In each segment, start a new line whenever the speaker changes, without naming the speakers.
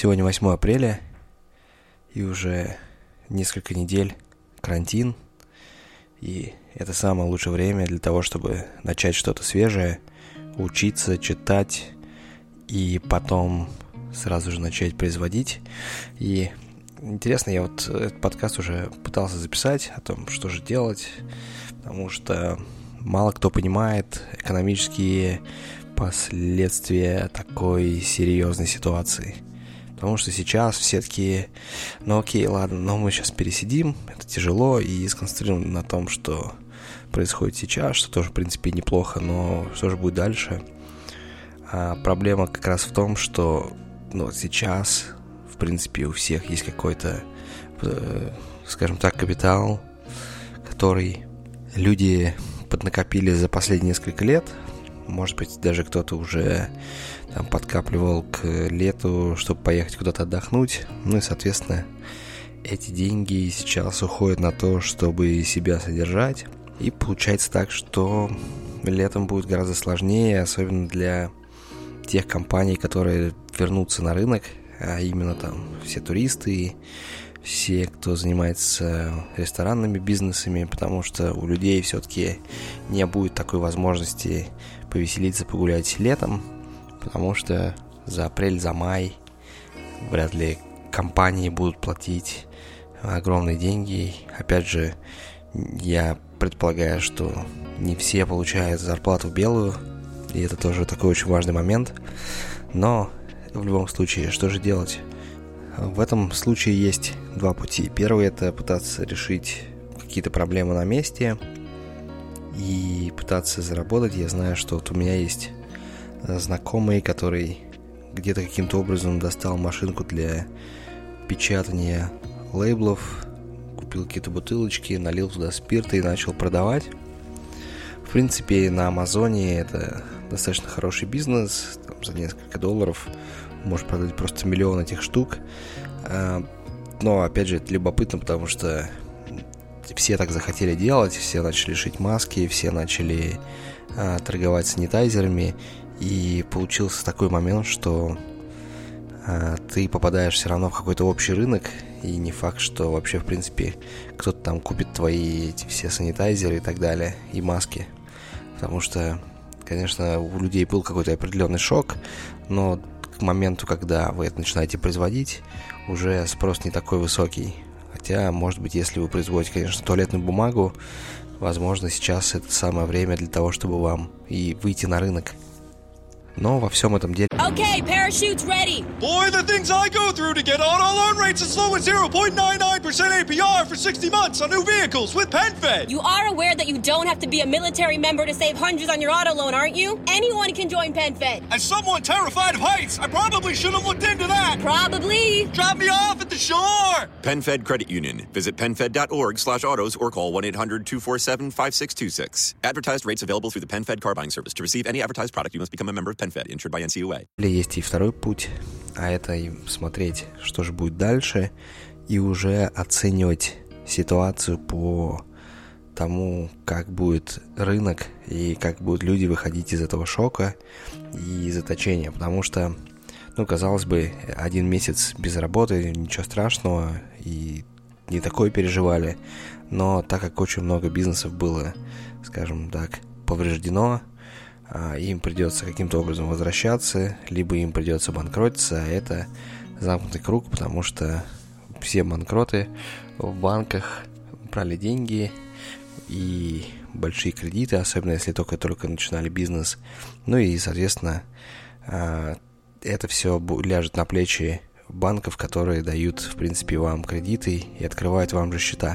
Сегодня 8 апреля, и уже несколько недель карантин, и это самое лучшее время для того, чтобы начать что-то свежее, учиться, читать, и потом сразу же начать производить. И интересно, я вот этот подкаст уже пытался записать о том, что же делать, потому что мало кто понимает экономические последствия такой серьезной ситуации. Потому что сейчас все такие, окей, ладно, но мы сейчас пересидим, это тяжело, и сконцентрируем на том, что происходит сейчас, что тоже, в принципе, неплохо, но что же будет дальше? А проблема как раз в том, что сейчас, в принципе, у всех есть какой-то, скажем так, капитал, который люди поднакопили за последние несколько лет. Может быть, даже кто-то уже там подкапливал к лету, чтобы поехать куда-то отдохнуть. И, соответственно, эти деньги сейчас уходят на то, чтобы себя содержать. И получается так, что летом будет гораздо сложнее, особенно для тех компаний, которые вернутся на рынок, а именно там все туристы, все, кто занимается ресторанными бизнесами, потому что у людей все-таки не будет такой возможности повеселиться, погулять летом, потому что за апрель, за май вряд ли компании будут платить огромные деньги. Опять же, я предполагаю, что не все получают зарплату белую, и это тоже такой очень важный момент. Но в любом случае, что же делать? В этом случае есть два пути. Первый – это пытаться решить какие-то проблемы на месте и пытаться заработать. Я знаю, что вот у меня есть знакомый, который где-то каким-то образом достал машинку для печатания лейблов, купил какие-то бутылочки, налил туда спирта и начал продавать. В принципе, на Амазоне это достаточно хороший бизнес. Там за несколько долларов можешь продать просто миллион этих штук. Но, опять же, это любопытно, потому что все так захотели делать, все начали шить маски, все начали торговать санитайзерами, и получился такой момент, что ты попадаешь все равно в какой-то общий рынок, и не факт, что вообще, в принципе, кто-то там купит твои эти все санитайзеры и так далее, и маски. Потому что, конечно, у людей был какой-то определенный шок, но к моменту, когда вы это начинаете производить, уже спрос не такой высокий. Хотя, может быть, если вы производите, конечно, туалетную бумагу, возможно, сейчас это самое время для того, чтобы вам и выйти на рынок. Но во всем этом деле...
Okay, parachutes ready.
Boy, the things I go through to get auto loan rates as low as 0.99% APR for 60 months on new vehicles with PenFed.
You are aware that you don't have to be a military member to save hundreds on your auto loan, aren't you? Anyone can join PenFed.
As someone terrified of heights, I probably should have looked into that.
Probably.
Drop me off at the shore.
PenFed Credit Union. Visit PenFed.org/autos or call 1-800-247-5626. Advertised rates available through the PenFed car buying service. To receive any advertised product, you must become a member of PenFed, insured by NCUA.
Есть и второй путь, а это смотреть, что же будет дальше, и уже оценивать ситуацию по тому, как будет рынок и как будут люди выходить из этого шока и заточения. Потому что, казалось бы, 1 месяц без работы, ничего страшного, и не такое переживали. Но так как очень много бизнесов было, скажем так, повреждено, им придется каким-то образом возвращаться, либо им придется банкротиться, а это замкнутый круг, потому что все банкроты в банках брали деньги и большие кредиты, особенно если только начинали бизнес. И, соответственно, это все ляжет на плечи банков, которые дают, в принципе, вам кредиты и открывают вам же счета.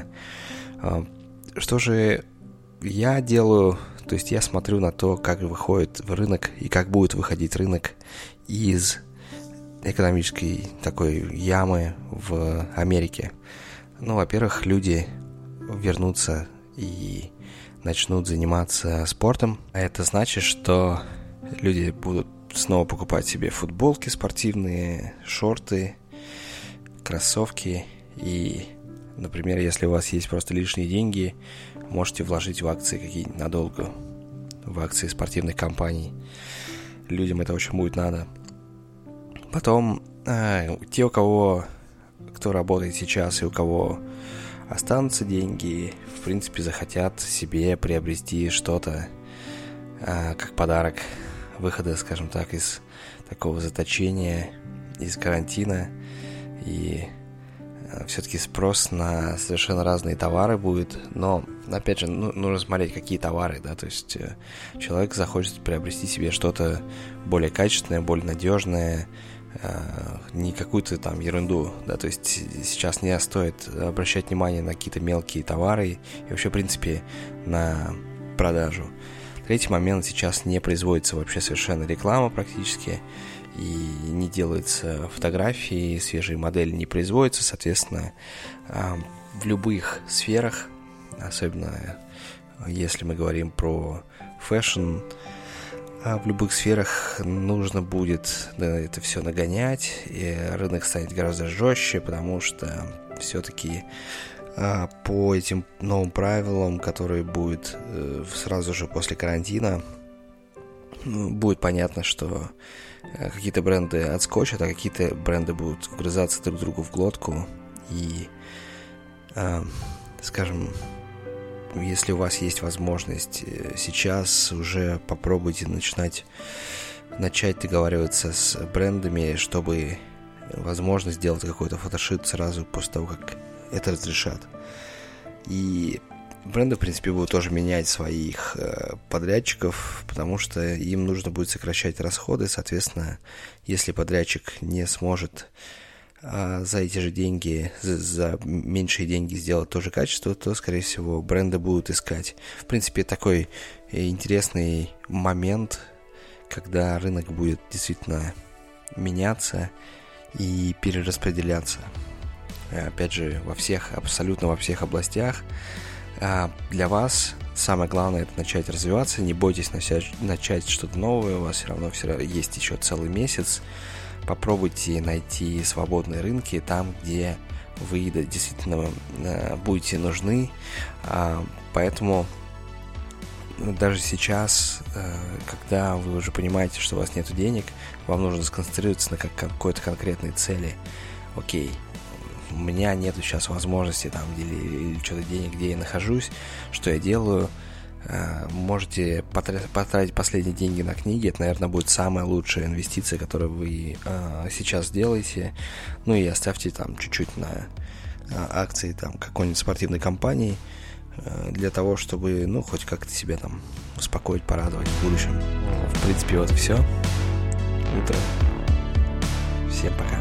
Что же я делаю? То есть я смотрю на то, как выходит в рынок и как будет выходить рынок из экономической такой ямы в Америке. Во-первых, люди вернутся и начнут заниматься спортом. А это значит, что люди будут снова покупать себе футболки спортивные, шорты, кроссовки. И, например, если у вас есть просто лишние деньги, можете вложить в акции какие-нибудь надолго, в акции спортивных компаний. Людям это очень будет надо. Потом те, кто работает сейчас и у кого останутся деньги, в принципе, захотят себе приобрести что-то как подарок выхода, скажем так, из такого заточения, из карантина. И все-таки спрос на совершенно разные товары будет, но, опять же, нужно смотреть, какие товары, да, то есть человек захочет приобрести себе что-то более качественное, более надежное, не какую-то там ерунду, да, то есть сейчас не стоит обращать внимание на какие-то мелкие товары и вообще, в принципе, на продажу. Третий момент: сейчас не производится вообще совершенно реклама практически, и не делаются фотографии, свежие модели не производятся, соответственно, в любых сферах, особенно если мы говорим про фэшн, в любых сферах нужно будет это все нагонять, и рынок станет гораздо жестче, потому что все-таки по этим новым правилам, которые будут сразу же после карантина, будет понятно, что какие-то бренды отскочат, а какие-то бренды будут вгрызаться друг другу в глотку. И, скажем, если у вас есть возможность сейчас, уже попробуйте начать договариваться с брендами, чтобы, возможно, сделать какой-то фотошит сразу после того, как это разрешат. И бренды, в принципе, будут тоже менять своих подрядчиков, потому что им нужно будет сокращать расходы. Соответственно, если подрядчик не сможет за эти же деньги, за меньшие деньги сделать то же качество, то, скорее всего, бренды будут искать. В принципе, такой интересный момент, когда рынок будет действительно меняться и перераспределяться. Опять же, абсолютно во всех областях. Для вас самое главное — это начать развиваться. Не бойтесь начать что-то новое. У вас все равно есть еще целый месяц. Попробуйте найти свободные рынки там, где вы действительно будете нужны. Поэтому даже сейчас, когда вы уже понимаете, что у вас нет денег, вам нужно сконцентрироваться на какой-то конкретной цели. Окей, у меня нету сейчас возможности там или что-то денег, где я нахожусь, что я делаю. Можете потратить последние деньги на книги. Это, наверное, будет самая лучшая инвестиция, которую вы сейчас делаете. Ну и оставьте там чуть-чуть на акции там какой-нибудь спортивной компании, для того, чтобы, хоть как-то себя там успокоить, порадовать в будущем. В принципе, вот и все. Утро. Всем пока.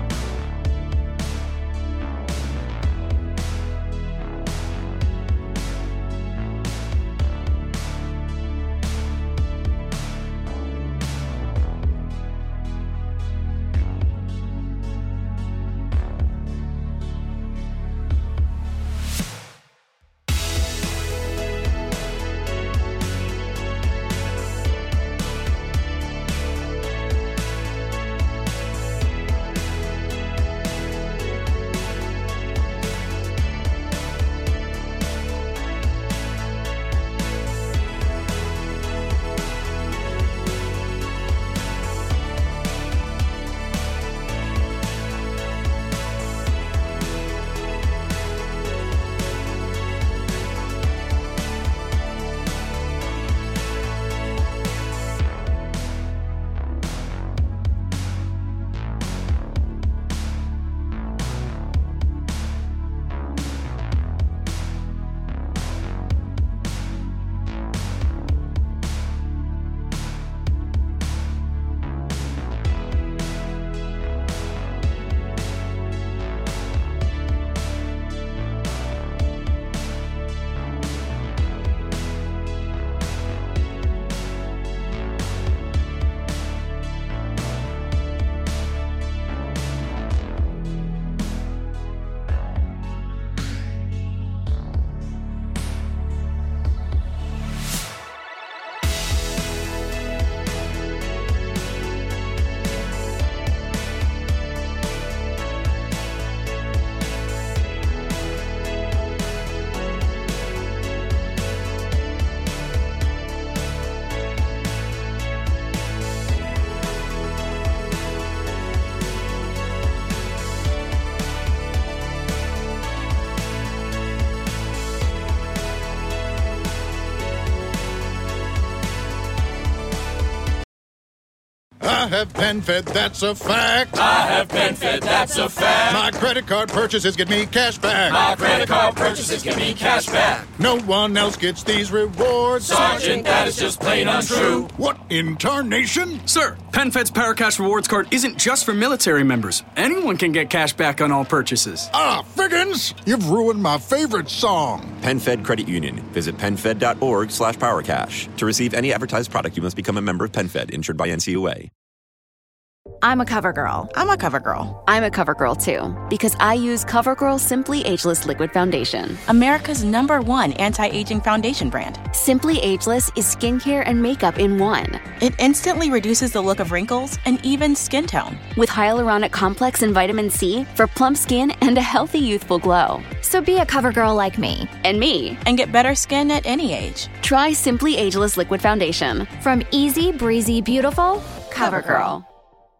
I have PenFed, that's a fact.
I have PenFed, that's a fact.
My credit card purchases get me cash back.
My credit card purchases get me cash back.
No one else gets these rewards.
Sergeant, that is just plain untrue.
What in tarnation?
Sir, PenFed's Paracash Rewards Card isn't just for military members. Anyone can get cash back on all purchases.
Ah, Figgins! You've ruined my favorite song.
PenFed Credit Union. Visit PenFed.org/PowerCash. To receive any advertised product, you must become a member of PenFed, insured by NCUA.
I'm a CoverGirl.
I'm a CoverGirl.
I'm a CoverGirl, too, because I use CoverGirl Simply Ageless Liquid Foundation.
America's #1 anti-aging foundation brand.
Simply Ageless is skincare and makeup in one.
It instantly reduces the look of wrinkles and even skin tone.
With hyaluronic complex and vitamin C for plump skin and a healthy, youthful glow.
So be a CoverGirl like me.
And me.
And get better skin at any age.
Try Simply Ageless Liquid Foundation.
From easy, breezy, beautiful,
CoverGirl.